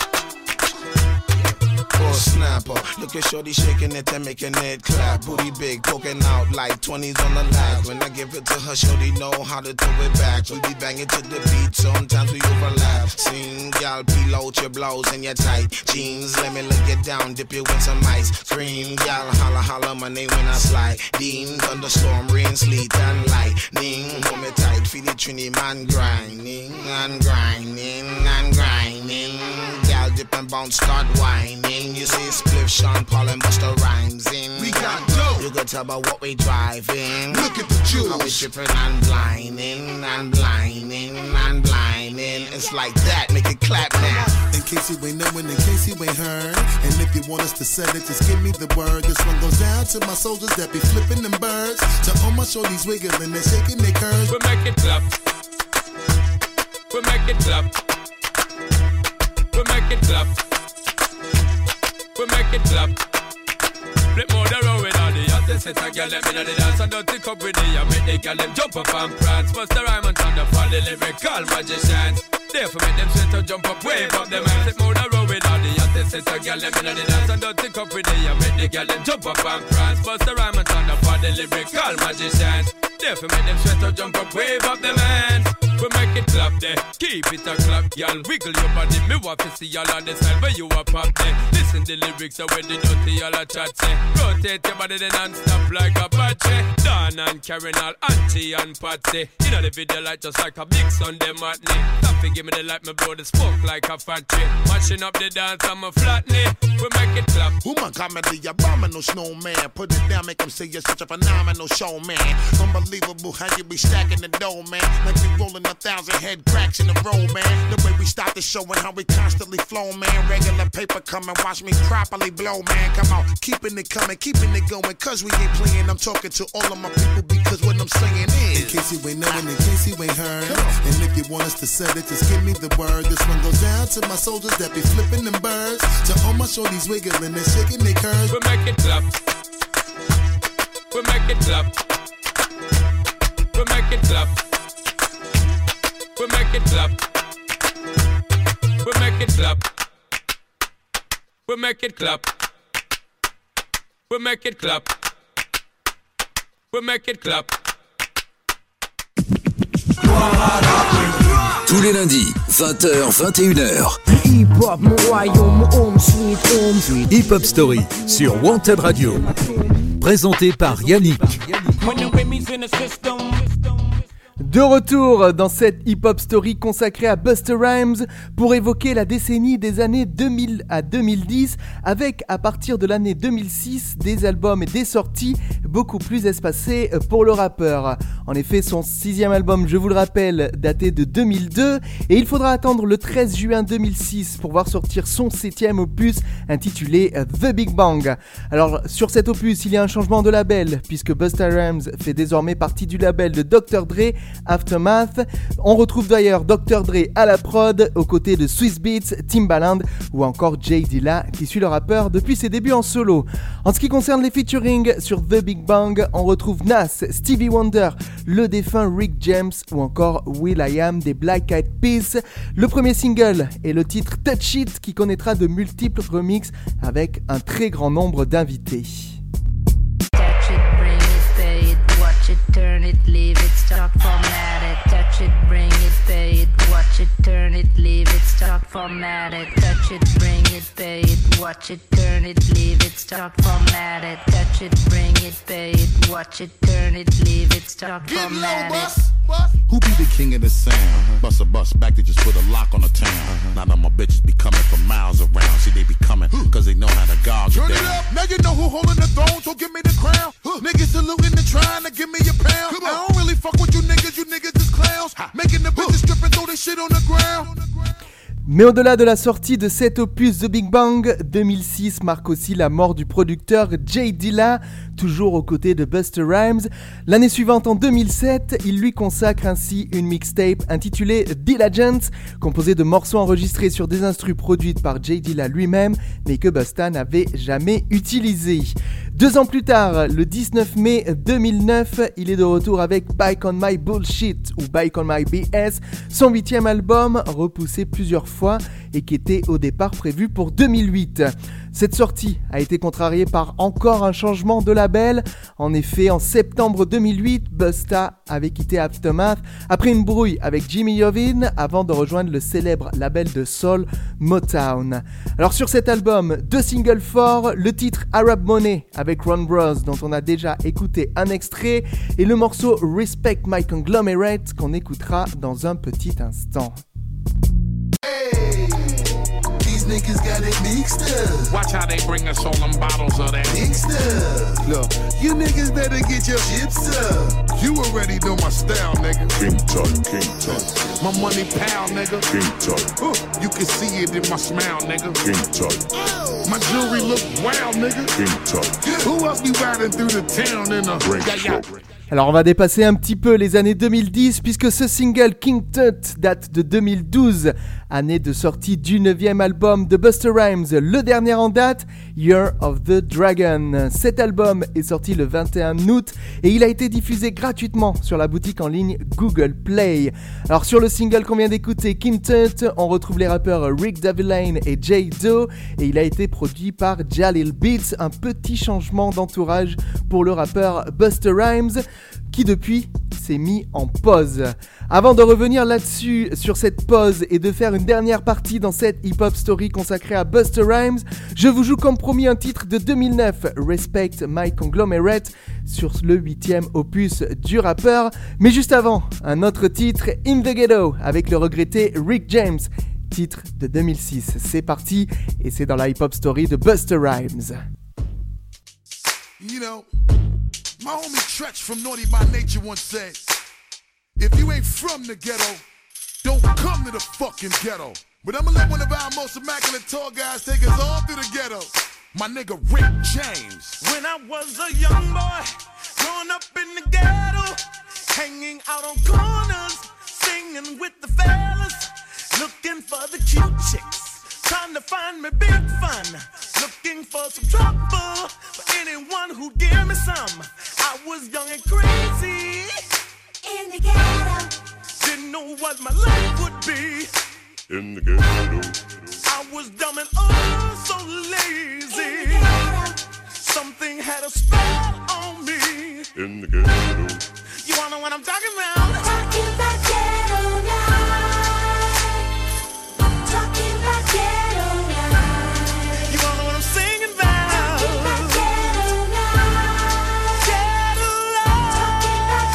Oh snapper, look at shorty shaking it and making it clap. Booty big, poking out like twenties on the lag. When I give it to her, shorty know how to throw it back. We be banging to the beat, sometimes we overlap. Sing, y'all peel out your blouse and your tight jeans. Let me look it down, dip you in some ice cream. Y'all holla holla my name when I slide. Dean, thunderstorm, rain, sleet and lightning. Hold me tight, feel the Trini man grinding and grinding and grinding. Y'all dip and bounce, start whining. You see Spliff, Sean, Paul and Busta Rhymes in. we got dope. You can tell by what we driving. Look at the jewels. How we tripping and blinding and blinding and blinding. It's like that, make it clap now. In case you ain't knowing, in case you ain't heard, and if you want us to sell it, just give me the word. This one goes down to my soldiers that be flipping them birds, to all my shorties wiggling and shaking their curves. We make it clap. We make it clap. We make it clap. We make it clap. Flip more the road with all the hottest set a girl them inna the dance and don't think up with the I make the girl them jump up and prance. Bust the rhyme and thunder for the lyrical magicians. Therefore make them sweat to jump up, wave up them hands. Flip more the road with all the hottest set a girl them inna the dance and don't think up with the I make the girl them jump up and prance. Bust the rhyme and thunder for the lyrical magicians. Therefore make them sweat to jump up, wave up them hands. We make it clap there, keep it a clap, y'all. Wiggle your body, me want to see y'all on the side where you a pop there. Listen the lyrics of where the dirty y'all a chat say. Rotate your body then non-stop like a Apache. Dan and Karen all Auntie and Patsy. You know the video like just like a big Sunday matinee. Taffy give me the light, me blow the smoke like a factory. Mashing up the dance, I'm a flatney. We make it clap. Who my comedy, abominable snowman. Put it down, make them say you're such a phenomenal showman. Unbelievable how you be stacking the dough, man. Like we rolling a thousand head cracks in a row, man. The way we start the show and how we constantly flow, man. Regular paper coming, watch me properly blow, man. Come on, keeping it coming, keeping it going, cause we ain't playing. I'm talking to all of my people because what I'm saying is, in case you ain't knowing, in case you ain't heard, and if you want us to sell it, just give me the word. This one goes down to my soldiers that be flipping them birds, to all my shorties wiggling and shaking their curves. We make it clap. We make it clap. We make it clap. We make it clap. We make it clap. We make it clap. We make it clap. We make it clap. Tous les lundis, vingt heures, vingt et une heures. Hip Hop Story sur Wanted Radio. Présenté par Yannick. De retour dans cette hip-hop story consacrée à Busta Rhymes pour évoquer la décennie des années deux mille à deux mille dix avec, à partir de l'année deux mille six, des albums et des sorties beaucoup plus espacés pour le rappeur. En effet, son sixième album, je vous le rappelle, daté de deux mille deux et il faudra attendre le treize juin deux mille six pour voir sortir son septième opus intitulé The Big Bang. Alors, sur cet opus, il y a un changement de label puisque Busta Rhymes fait désormais partie du label de docteur Dre, Aftermath. On retrouve d'ailleurs docteur Dre à la prod aux côtés de Swizz Beatz, Timbaland ou encore Jay Dilla qui suit le rappeur depuis ses débuts en solo. En ce qui concerne les featuring sur The Big Bang, on retrouve Nas, Stevie Wonder, le défunt Rick James ou encore will.i.am des Black Eyed Peas. Le premier single est le titre Touch It qui connaîtra de multiples remixes avec un très grand nombre d'invités. Turn it, leave it, start format it, touch it, bring it, pay it, watch it, turn it, leave it, start format it, touch it, bring it, pay it, watch it, turn it, leave it, start format it, touch it, bring it, pay it, watch it, turn it, leave it, start format it. Who be the king of the sound? Uh-huh. Bust a bust back, they just put a lock on the town. Uh-huh. Now that my bitches be coming from miles around. See, they be coming, cause they know how to gouge it down. Turn it up, now you know who holding the throne, so give me the crown. Huh. Niggas saluting and trying to give me a pound. I don't really fuck with you niggas, you niggas is clowns. Ha. Making the bitches strip and throw this shit on the ground. Mais au-delà de la sortie de cet opus The Big Bang, deux mille six marque aussi la mort du producteur J Dilla, toujours aux côtés de Busta Rhymes. L'année suivante, en deux mille sept, il lui consacre ainsi une mixtape intitulée Diligence, composée de morceaux enregistrés sur des instrus produites par J Dilla lui-même, mais que Busta n'avait jamais utilisés. Deux ans plus tard, le dix-neuf mai deux mille neuf, il est de retour avec Back on My Bullshit ou Back on My B S, son huitième album, repoussé plusieurs fois et qui était au départ prévu pour deux mille huit. Cette sortie a été contrariée par encore un changement de label. En effet, en septembre deux mille huit, Busta avait quitté Aftermath après une brouille avec Jimmy Iovine avant de rejoindre le célèbre label de soul Motown. Alors sur cet album, deux singles forts, le titre Arab Money avec Ron Bros dont on a déjà écouté un extrait et le morceau Respect My Conglomerate qu'on écoutera dans un petit instant. Niggas got it mixed up. Watch how they bring us all them bottles of that. Mixed up. Look, you niggas better get your chips up. You already know my style, nigga. King Tut, King Tut. My money pal, nigga. King Tut. Uh, you can see it in my smile, nigga. King Tut. My jewelry look wild, nigga. King Tut. Who else be riding through the town in a yeah, yeah. Alors on va dépasser un petit peu les années deux mille dix puisque ce single King Tut date de deux mille douze, année de sortie du neuvième album de Busta Rhymes, le dernier en date, Year of the Dragon. Cet album est sorti le vingt et un août et il a été diffusé gratuitement sur la boutique en ligne Google Play. Alors sur le single qu'on vient d'écouter, King Tut, on retrouve les rappeurs Rick Davillane et J Doe et il a été produit par Jalil Beats, un petit changement d'entourage pour le rappeur Busta Rhymes, qui depuis s'est mis en pause. Avant de revenir là-dessus, sur cette pause et de faire une dernière partie dans cette hip-hop story consacrée à Busta Rhymes, je vous joue comme promis un titre de deux mille neuf, Respect My Conglomerate, sur le huitième opus du rappeur. Mais juste avant, un autre titre, In the Ghetto, avec le regretté Rick James, titre de deux mille six. C'est parti, et c'est dans la hip-hop story de Busta Rhymes. You know, my homie Tretch from Naughty by Nature once said, if you ain't from the ghetto, don't come to the fucking ghetto. But I'ma let one of our most immaculate tall guys take us all through the ghetto. My nigga Rick James. When I was a young boy, growing up in the ghetto, hanging out on corners, singing with the fellas, looking for the cute chicks, trying to find me big fun, looking for some trouble, for anyone who'd give me some. I was young and crazy, in the ghetto, didn't know what my life would be. In the ghetto, I was dumb and oh so lazy. In the ghetto, something had a spell on me. in the ghetto. You wanna know what I'm talking about? Talking about ghetto life. Talking about ghetto life. You wanna know what I'm singing about? Talking about ghetto life. Ghetto life. Talking about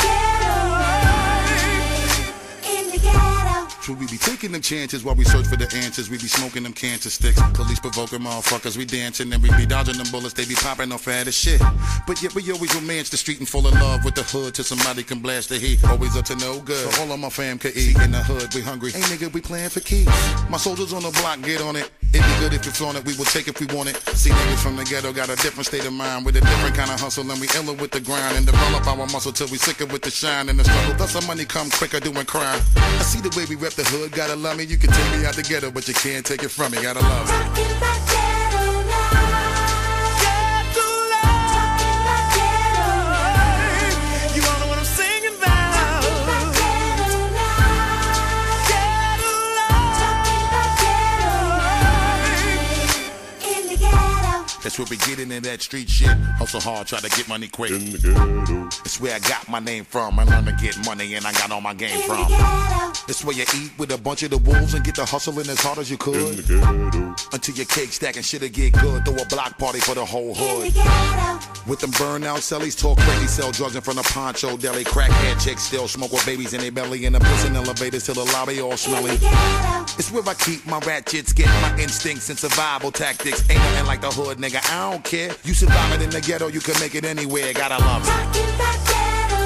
ghetto life. In the ghetto. Should we be taking them chances while we search for the answers? We be smoking them cancer sticks. Police provoking motherfuckers. We dancing and we be dodging them bullets. They be popping off fat as shit. But yet we always romance the street and fall in love with the hood till somebody can blast the heat. Always up to no good. So all of my fam could eat. In the hood, we hungry. Hey nigga, we playing for keys. My soldiers on the block, get on it. It'd be good if you flaunt it. We will take if we want it. See niggas from the ghetto got a different state of mind with a different kind of hustle, and we iller with the grind and develop our muscle till we sicker with the shine and the struggle. Thus our money come quicker doing crime. I see the way we rep the hood. Gotta love me. You can take me out the ghetto, but you can't take it from me. Gotta love me. Talking about ghetto life. Ghetto life. Talking about ghetto life. You wanna know what I'm singing about? Talking about ghetto life. Ghetto life. Talking about ghetto life. In the ghetto. That's where we get into that street shit. Hustle hard, try to get money quick. In the ghetto. It's where I got my name from. I learned to get money and I got all my game In from. the ghetto. It's where you eat with a bunch of the wolves and get the hustling as hard as you In could. the ghetto. Until your cake stacking shit'll get good. Throw a block party for the whole In the hood. ghetto. With them burnout cellies, talk crazy, sell drugs in front of Poncho Deli. Crackhead chicks still smoke with babies in their belly. In the prison elevators till the lobby all In smelly. the ghetto. It's where I keep my ratchets, get my instincts and survival tactics. Ain't nothing like the hood, nigga, I don't care. You survive it in the ghetto, you can make it anywhere. Gotta love it. Talking about ghetto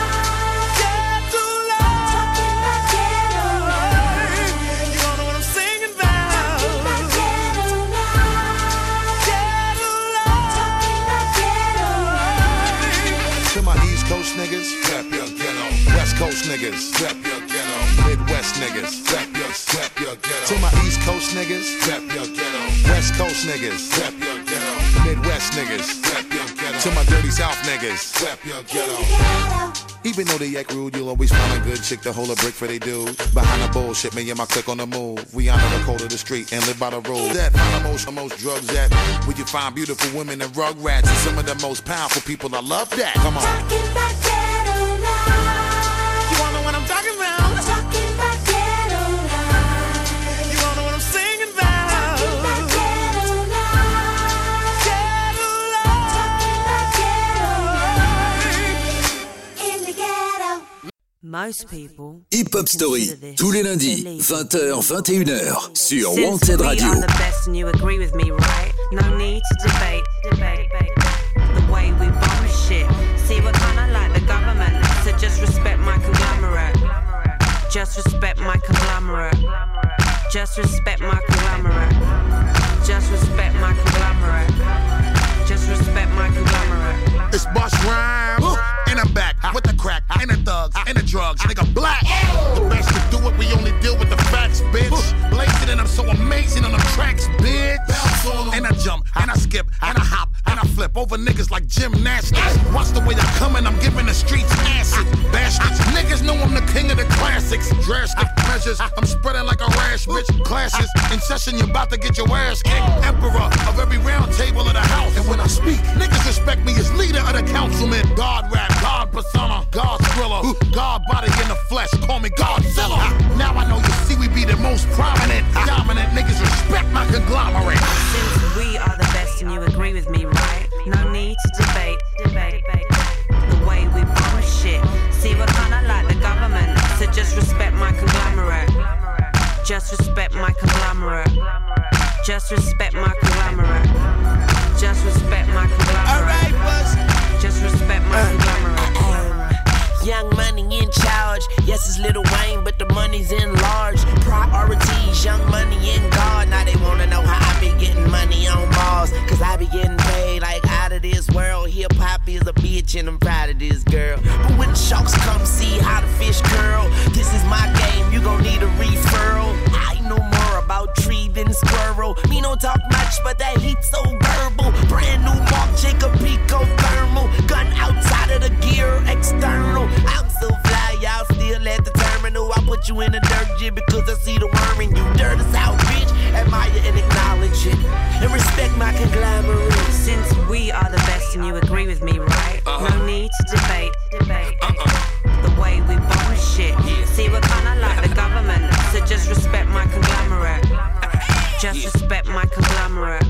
life. Ghetto life. Talking about ghetto life. You wanna know what I'm singing niggas, rep your ghetto. Midwest niggas, rep your, rep your ghetto. To my East Coast niggas, rep your ghetto. West Coast niggas, rep your ghetto. Midwest niggas, rep your ghetto. To my dirty South niggas, rep your ghetto. Even though they act rude, you'll always find a good chick to hold a brick for they dude. Behind the bullshit, me and my clique on the move. We honor the code of the street and live by the rules. That find the most, the most drugs at. Where you find beautiful women and rug rats and some of the most powerful people. I love that. Come on. Talking about ghetto life. You wanna know what I'm talking about? Talking about ghetto life. You wanna know what I'm singing about? Talking about ghetto life. Ghetto life. Talking about ghetto life. In the ghetto. Most people Hip Hop Story, tous les lundis, vingt heures, vingt et une heures, sur Since Wanted we Radio. are the best and you agree with me, right? No need to debate, debate, debate. The way we bomb shit. See, we're kinda like the government, so just respect my conglomerate. Just respect my conglomerate. Just respect my conglomerate. Just respect my conglomerate. Just respect my conglomerate. It's Bust Rhymes in the back with the crack and the thugs and the drugs. Nigga black. The best to do it, we only deal with the facts, bitch. Blazing and I'm so amazing on the tracks, bitch. And I jump and I skip and I hop and I flip over niggas like gymnastics. Watch the way I'm coming, I'm giving the streets acid. Bastards, niggas know I'm the king of the classics. Drastic measures, I'm spreading like a rash, bitch. Clashes in session, you're about to get your ass kicked. Emperor of every round table of the house. And when I speak, niggas respect me as leader of the councilman. God rap, God persona, God thriller, God body in the flesh. Call me Godzilla. Now I know you see we be the most prominent, dominant niggas. Respect my conglomerate. Since we are the best and you agree with me, right? No need to debate, debate, debate. The way we bomb shit. See, we're kinda like the government, so just respect my conglomerate. Just respect my conglomerate. Just respect my conglomerate. Just respect my conglomerate. Alright, Buzz. Just respect my conglomerate. Young Money in charge. Yes, it's Lil Wayne, but the money's in large. Priorities, Young Money in God. Now they wanna know how I be getting money on Mars. Cause I be getting paid like out of this world. Hip hop is a bitch and I'm proud of this girl. But when the sharks come see how the fish curl, this is my game, you gon' need a referral. I know more about tree than squirrel. Me don't talk much, but that heat so verbal. Brand new Mark Jacob Pico thermal. Gun outside of the gear, external. I'm so fly, y'all still at the terminal. I put you in the dirt jig because I see the worm in you. Dirt is out, bitch. Admire and acknowledge it. And respect my conglomerate. Since we are the best and you agree with me, right? Uh-huh. No need to debate, debate. Uh-uh. The way we bomb shit. See, we're kinda like the government, so just respect my conglomerate. Just respect my conglomerate.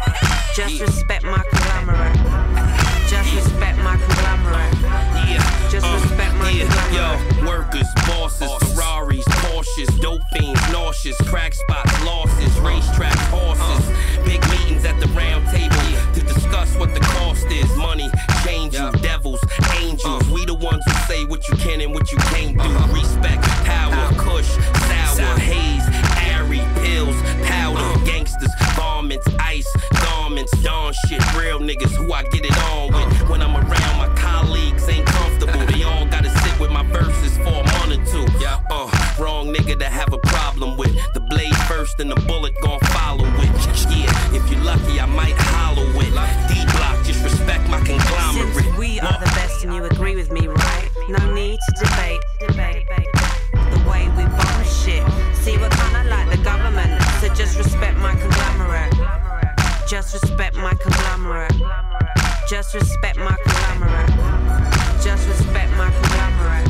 Just respect my conglomerate. Just respect my conglomerate. Yeah. Just respect my yeah. conglomerate. Yo, workers, bosses, Ferraris, Porsches, dope fiends, nauseous, crack spots, losses, racetracks, horses. Big meetings at the round table to discuss what the cost is. Money, change you, devils, angels. We the ones who say what you can and what you can't do. Respect, power, kush, sour, haze, airy, pills, powder, gangsters, varmints, ice, garments, dawn shit. Real niggas who I get it on with. When I'm around, my colleagues ain't comfortable. They all gotta sit with my verses for a month or two. Uh, wrong nigga to have a problem with. The blade first and the bullet gon' follow it. Yeah, if you're lucky, I might hollow it. D-block, just respect my conglomerate. Since we are the best and you agree with me, right? No need to debate, debate, debate. The way we bomb shit. See, we're kinda like the government, so just respect my conglomerate. Just respect my conglomerate. Just respect my conglomerate. Just respect my conglomerate.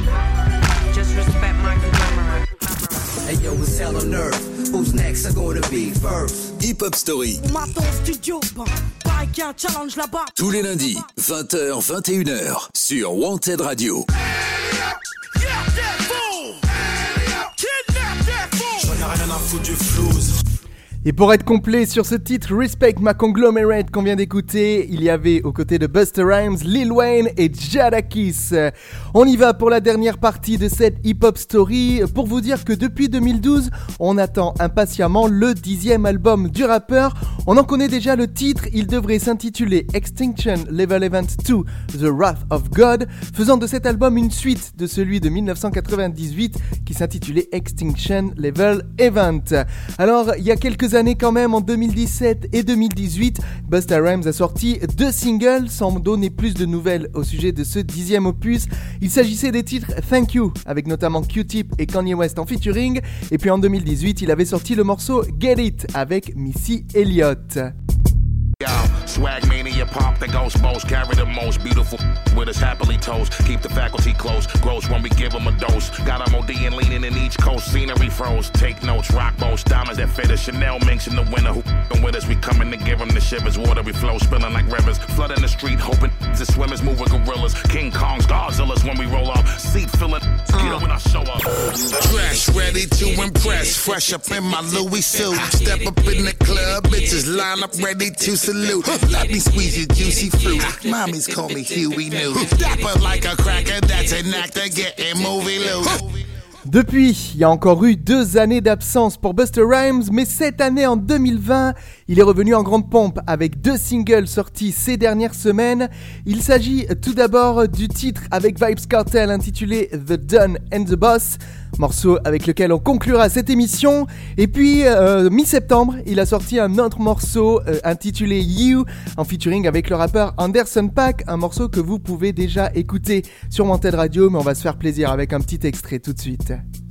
Just respect my conglomerate. Hey yo, it's hell on earth. Who's next are gonna be first? Hip Hop Story, On m'attend au studio, bon, pareil qu'il y a un challenge là-bas. tous les lundis, vingt heures, vingt et une heures, sur Wanted Radio. Et pour être complet sur ce titre Respect My Conglomerate qu'on vient d'écouter, il y avait aux côtés de Busta Rhymes, Lil Wayne et Jadakiss. On y va pour la dernière partie de cette hip-hop story pour vous dire que depuis deux mille douze, on attend impatiemment le dixième album du rappeur. On en connaît déjà le titre, il devrait s'intituler Extinction Level Event deux, The Wrath of God, faisant de cet album une suite de celui de dix-neuf cent quatre-vingt-dix-huit qui s'intitulait Extinction Level Event. Alors, il y a quelques années quand même, en deux mille dix-sept et deux mille dix-huit, Busta Rhymes a sorti deux singles sans donner plus de nouvelles au sujet de ce dixième opus. Il s'agissait des titres Thank You, avec notamment Q-Tip et Kanye West en featuring, et puis en deux mille dix-huit, il avait sorti le morceau Get It avec Missy Elliott. Yo, swag mania pop the ghost most, carry the most beautiful with us happily toast, keep the faculty close, gross when we give them a dose, got them ODing leaning in each coast, scenery froze, take notes, rock boats, diamonds that fit us, Chanel minks in the winter, who f***ing with us, we coming to give them the shivers, watery flow, spilling like rivers, flooding the street, hoping the swimmers move with gorillas, King Kongs, Godzillas when we roll up, seat filling, get up when I show up. Dress ready to impress, fresh up in my Louis suit, step up in the club, bitches line up ready to salute. Let me squeeze your juicy fruit. Mommies call me Huey Newt. Dapper like a cracker, that's an actor getting movie loot. Depuis, il y a encore eu deux années d'absence pour Busta Rhymes, mais cette année en deux mille vingt, il est revenu en grande pompe avec deux singles sortis ces dernières semaines. Il s'agit tout d'abord du titre avec Vybz Kartel intitulé The Don and the Boss, morceau avec lequel on conclura cette émission. Et puis, euh, mi-septembre, il a sorti un autre morceau euh, intitulé You, en featuring avec le rappeur Anderson .Paak, un morceau que vous pouvez déjà écouter sur Wanted Radio, mais on va se faire plaisir avec un petit extrait tout de suite.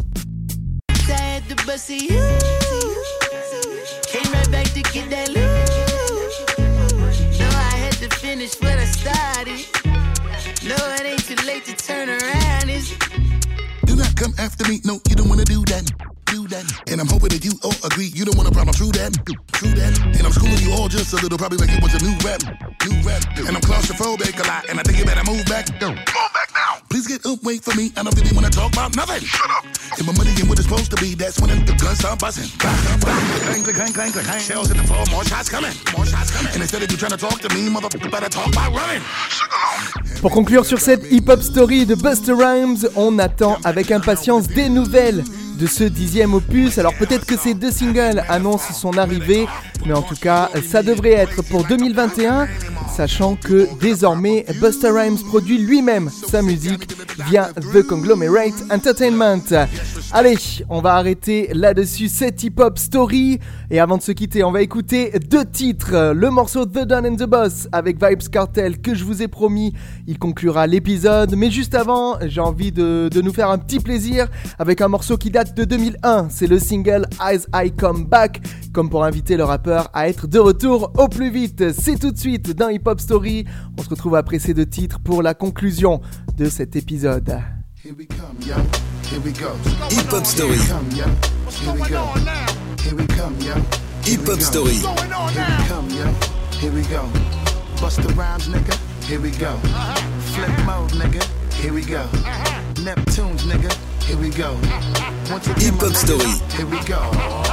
Came right back to get that loot. No, I had to finish what I started. No, it ain't too late to turn around. It's Do not come after me, no, you don't wanna do that. Do that. And I'm hoping that you all agree, you don't want a problem, true that. True that. And I'm schooling you all just a little, probably like it was a new rap. New rap. And I'm claustrophobic a lot, and I think you better move back. Move back now. Please get up, wait for me, I don't really wanna talk about nothing. Shut up. And my money ain't what it's supposed to be, that's when the guns start buzzing. Clang, clang, clang, clang, clang. Shells hit the floor, more shots coming. More shots coming. And instead of you trying to talk to me, motherfucker, better talk by running. Pour conclure sur cette hip-hop story de Busta Rhymes, on attend avec impatience des nouvelles de ce dixième opus. Alors peut-être que ces deux singles annoncent son arrivée, mais en tout cas ça devrait être pour deux mille vingt et un, sachant que désormais Busta Rhymes produit lui-même sa musique via The Conglomerate Entertainment. Allez, on va arrêter là-dessus cette hip-hop story, et avant de se quitter, on va écouter deux titres. Le morceau The Don and the Boss avec Vybz Kartel que je vous ai promis, il conclura l'épisode, mais juste avant, j'ai envie de, de nous faire un petit plaisir avec un morceau qui date de deux mille un, c'est le single As I Come Back, comme pour inviter le rappeur à être de retour au plus vite. C'est tout de suite dans Hip Hop Story, on se retrouve après ces deux titres pour la conclusion de cet épisode. Here we come, yo. Here we go. Hip Hop Story. Here we go. Here we come, yo. Hip Hop Story. Here we come, yo. Here we go. Busta Rhymes, nigga. Here we go. Flip mode, nigga. Here we go. Neptunes, nigga. Here we go. Hip Hop Story. Here we go.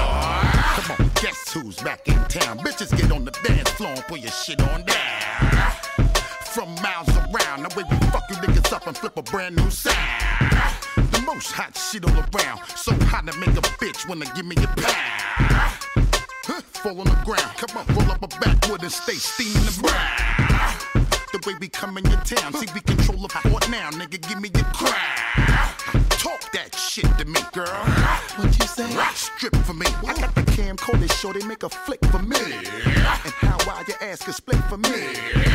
Come on, guess who's back in town? Bitches get on the dance floor and put your shit on down. From miles around, the way we fuck you niggas up and flip a brand new sound. The most hot shit all around, so hot to make a bitch wanna give me a pound. Huh, fall on the ground, come on, roll up a backwood and stay steaming the ground. The way we come in your town, see we control the fort now, nigga, give me your crown. Talk that shit to me, girl. What you say? Strip for me. I got the camcorder, show they make a flick for me. And how wide your ass can split for me.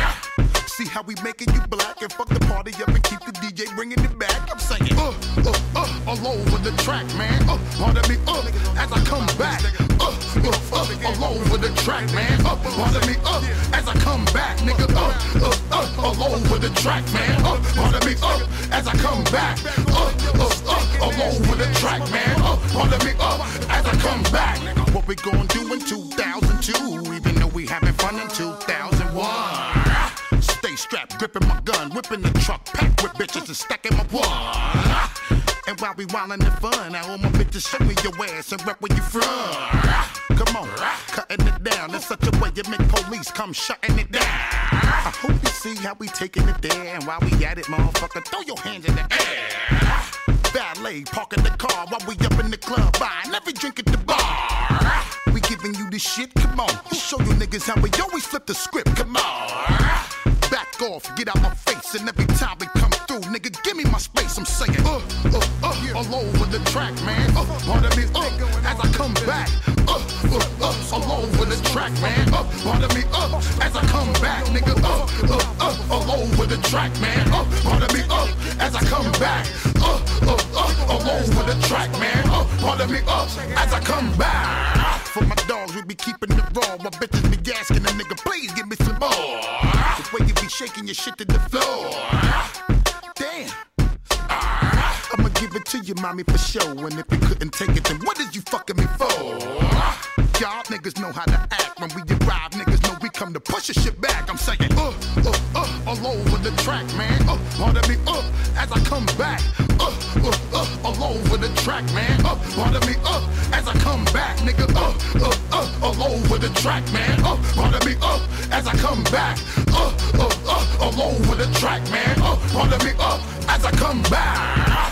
See how we making you black and fuck the party up and keep the D J bringing it back. I'm saying, uh, uh, uh, all over the track, man. Uh, pardon me, uh, as I come back. Uh, uh, uh, all over the track, man. Uh, pardon me, uh, as I come back, nigga. Uh, uh, uh, all over the track, man. Uh, pardon me, uh, as I come back. Uh, uh, uh, all over the track, man. Uh, pardon me, uh, as I come back. What we gonna do in two thousand two, even though we having fun in two thousand one. Stay strapped, gripping my gun, whipping the truck, packed with bitches and stacking my one. And while we wildin' in fun, I all my bitches show me your ass and rep where you from. Come on, cutting it down in such a way you make police come shutting it down. I hope you see how we taking it there, and while we at it, motherfucker, throw your hands in the air. Valet, parking the car while we up in the club, buying every drink at the bar. We giving you the this shit? Come on, show you niggas how we always flip the script. Come on, back off, get out my face, and every time we come through, nigga, give me my space. I'm saying, uh, uh, uh, all over the track, man. Uh, pardon me, uh, as I come back. Uh, uh, uh, all over the track, man. Uh, pardon me, uh, as I come back, nigga. Uh, uh, uh, all over the track, man. Uh, pardon me, uh, as I come back. Uh, uh, uh, all over the track, man. Uh, pardon me, uh, as I come back. For my dogs, we be keeping it raw. My bitches be asking a nigga, please give me some more. The way you be shaking your shit to the floor. Damn. I'ma give it to you, mommy, for sure. And if you couldn't take it, then what is you fucking me for? Y'all niggas know how to act. When we arrive, niggas know we come to push your shit back. I'm saying, uh, uh, uh, all over the track, man. Uh, pardon me, uh, as I come back. Uh, uh, uh, all over the track, man. Uh, pardon me, uh, as I come back, nigga. Uh, uh, uh, all over the track, man. Uh, pardon me, uh, as I come back. Uh, uh, uh, all over the track, man. Uh, pardon me, uh, as I come back.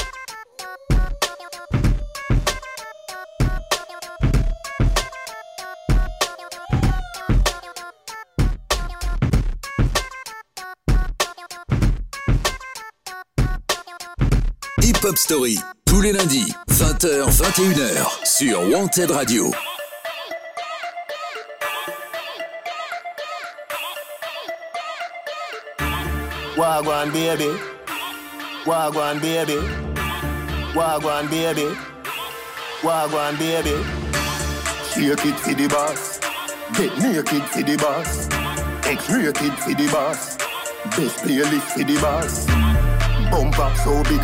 Hip Hop Story, tous les lundis, vingt heures vingt et une heures, sur Wanted Radio. Wagwan baby, Wagwan baby, Wagwan baby, Wagwan baby. Shake it for the boss, get naked for the boss, X-rated for the boss, best playlist for the boss. Bump up so big,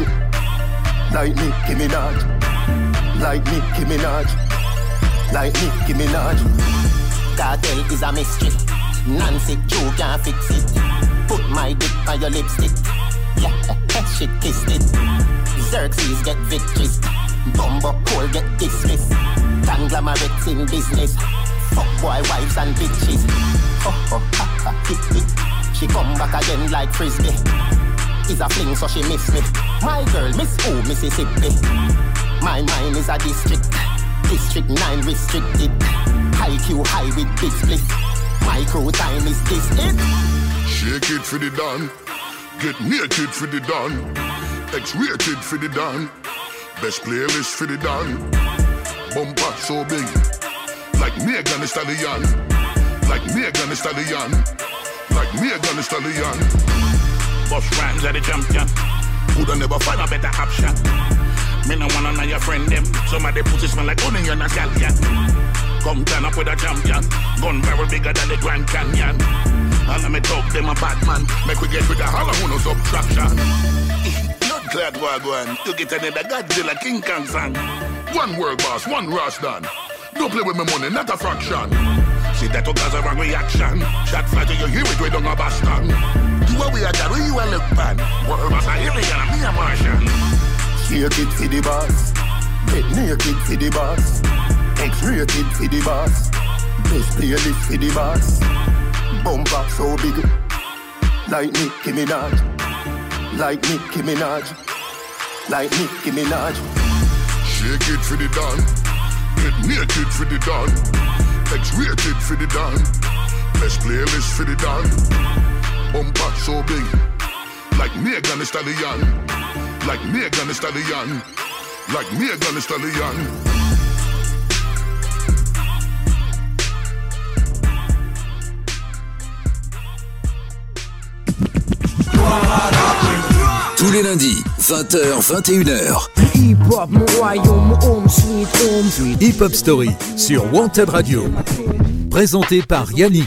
like Nicki Minaj, like Nicki Minaj, like Nicki Minaj. Cartel is a mystery, Nancy Q can't fix it. Put my dick on your lipstick, yeah, she kissed it. Xerxes get victories, Bumbo Cole get dismissed. Conglomerates in business, fuck boy wives and bitches. Oh, oh, ha, ha, hit it. She come back again like Frisbee. Is a fling so she miss me. My girl miss who Mississippi. My mind is a district, District nine restricted. High Q high with big split. My crew time is this it. Shake it for the dawn, get naked for the dawn, X-rated for the dawn, best playlist for the dawn. Bumper so big, like Megan Thee Stallion, like Megan Thee Stallion, like Megan Thee Stallion. Boss rhymes are the champion. Woulda never find a better option. Me no wanna know your friend them. Some of the pussy smell like onion and scallion. Come turn up with a champion. Gun barrel bigger than the Grand Canyon. All of me talk them a bad man. Make we get rid of all of who no subtraction. Blood clad wagwan. You get another Godzilla King Kong song. One world boss, one Rastan. Don't play with my money, not a fraction. See that to cause a wrong reaction. Shot fire till you hear it, we don't have Boston. You are we are that, where you are look bad. World boss a alien and me a Martian. Shake it for the boss, get naked for the boss, X-rated for the boss, best playlist for the boss. Bump up so big, like Nicki Minaj, like Nicki Minaj, like Nicki Minaj. Shake it for the dawn, get naked for the dawn, X-rated for the dawn, best playlist for the dawn. Bump up so big, like Megan Thee Stallion, like Megan Thee Stallion, like Megan Thee Stallion. Tous les lundis, vingt heures vingt et une heures. Hip Hop Story sur Wanted Radio. Présenté par Yannick.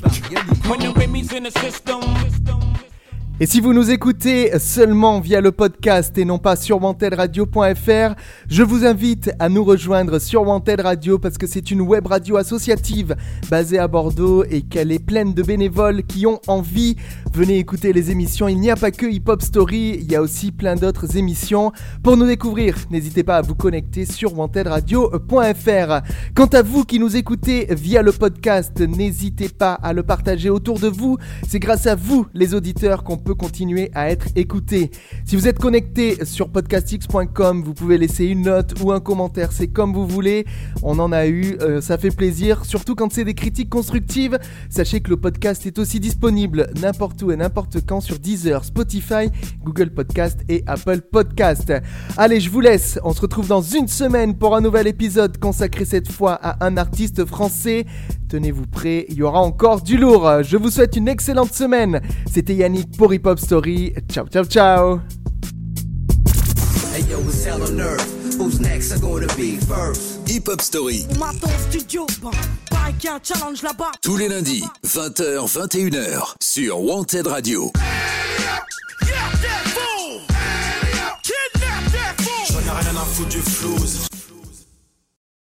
Et si vous nous écoutez seulement via le podcast et non pas sur wanted radio point f r, je vous invite à nous rejoindre sur Wanted Radio parce que c'est une web radio associative basée à Bordeaux et qu'elle est pleine de bénévoles qui ont envie. Venez écouter les émissions, il n'y a pas que Hip Hop Story, il y a aussi plein d'autres émissions. Pour nous découvrir, n'hésitez pas à vous connecter sur wanted radio point f r. Quant à vous qui nous écoutez via le podcast, n'hésitez pas à le partager autour de vous. C'est grâce à vous, les auditeurs, qu'on peut continuer à être écouté. Si vous êtes connecté sur podcastx point com, vous pouvez laisser une note ou un commentaire, c'est comme vous voulez. On en a eu, euh, ça fait plaisir, surtout quand c'est des critiques constructives. Sachez que le podcast est aussi disponible n'importe où et n'importe quand sur Deezer, Spotify, Google Podcast et Apple Podcast. Allez, je vous laisse, on se retrouve dans une semaine pour un nouvel épisode consacré cette fois à un artiste français. Tenez-vous prêts, il y aura encore du lourd. Je vous souhaite une excellente semaine. C'était Yannick pour Hip Hop Story. Ciao, ciao, ciao. Hey yo, it's hell on earth. Who's next are gonna be first? Hip Hop Story. On m'attend au studio, bah, pareil qu'il y a un challenge là-bas. Tous les lundis, vingt heures, vingt et une heures, sur Wanted Radio.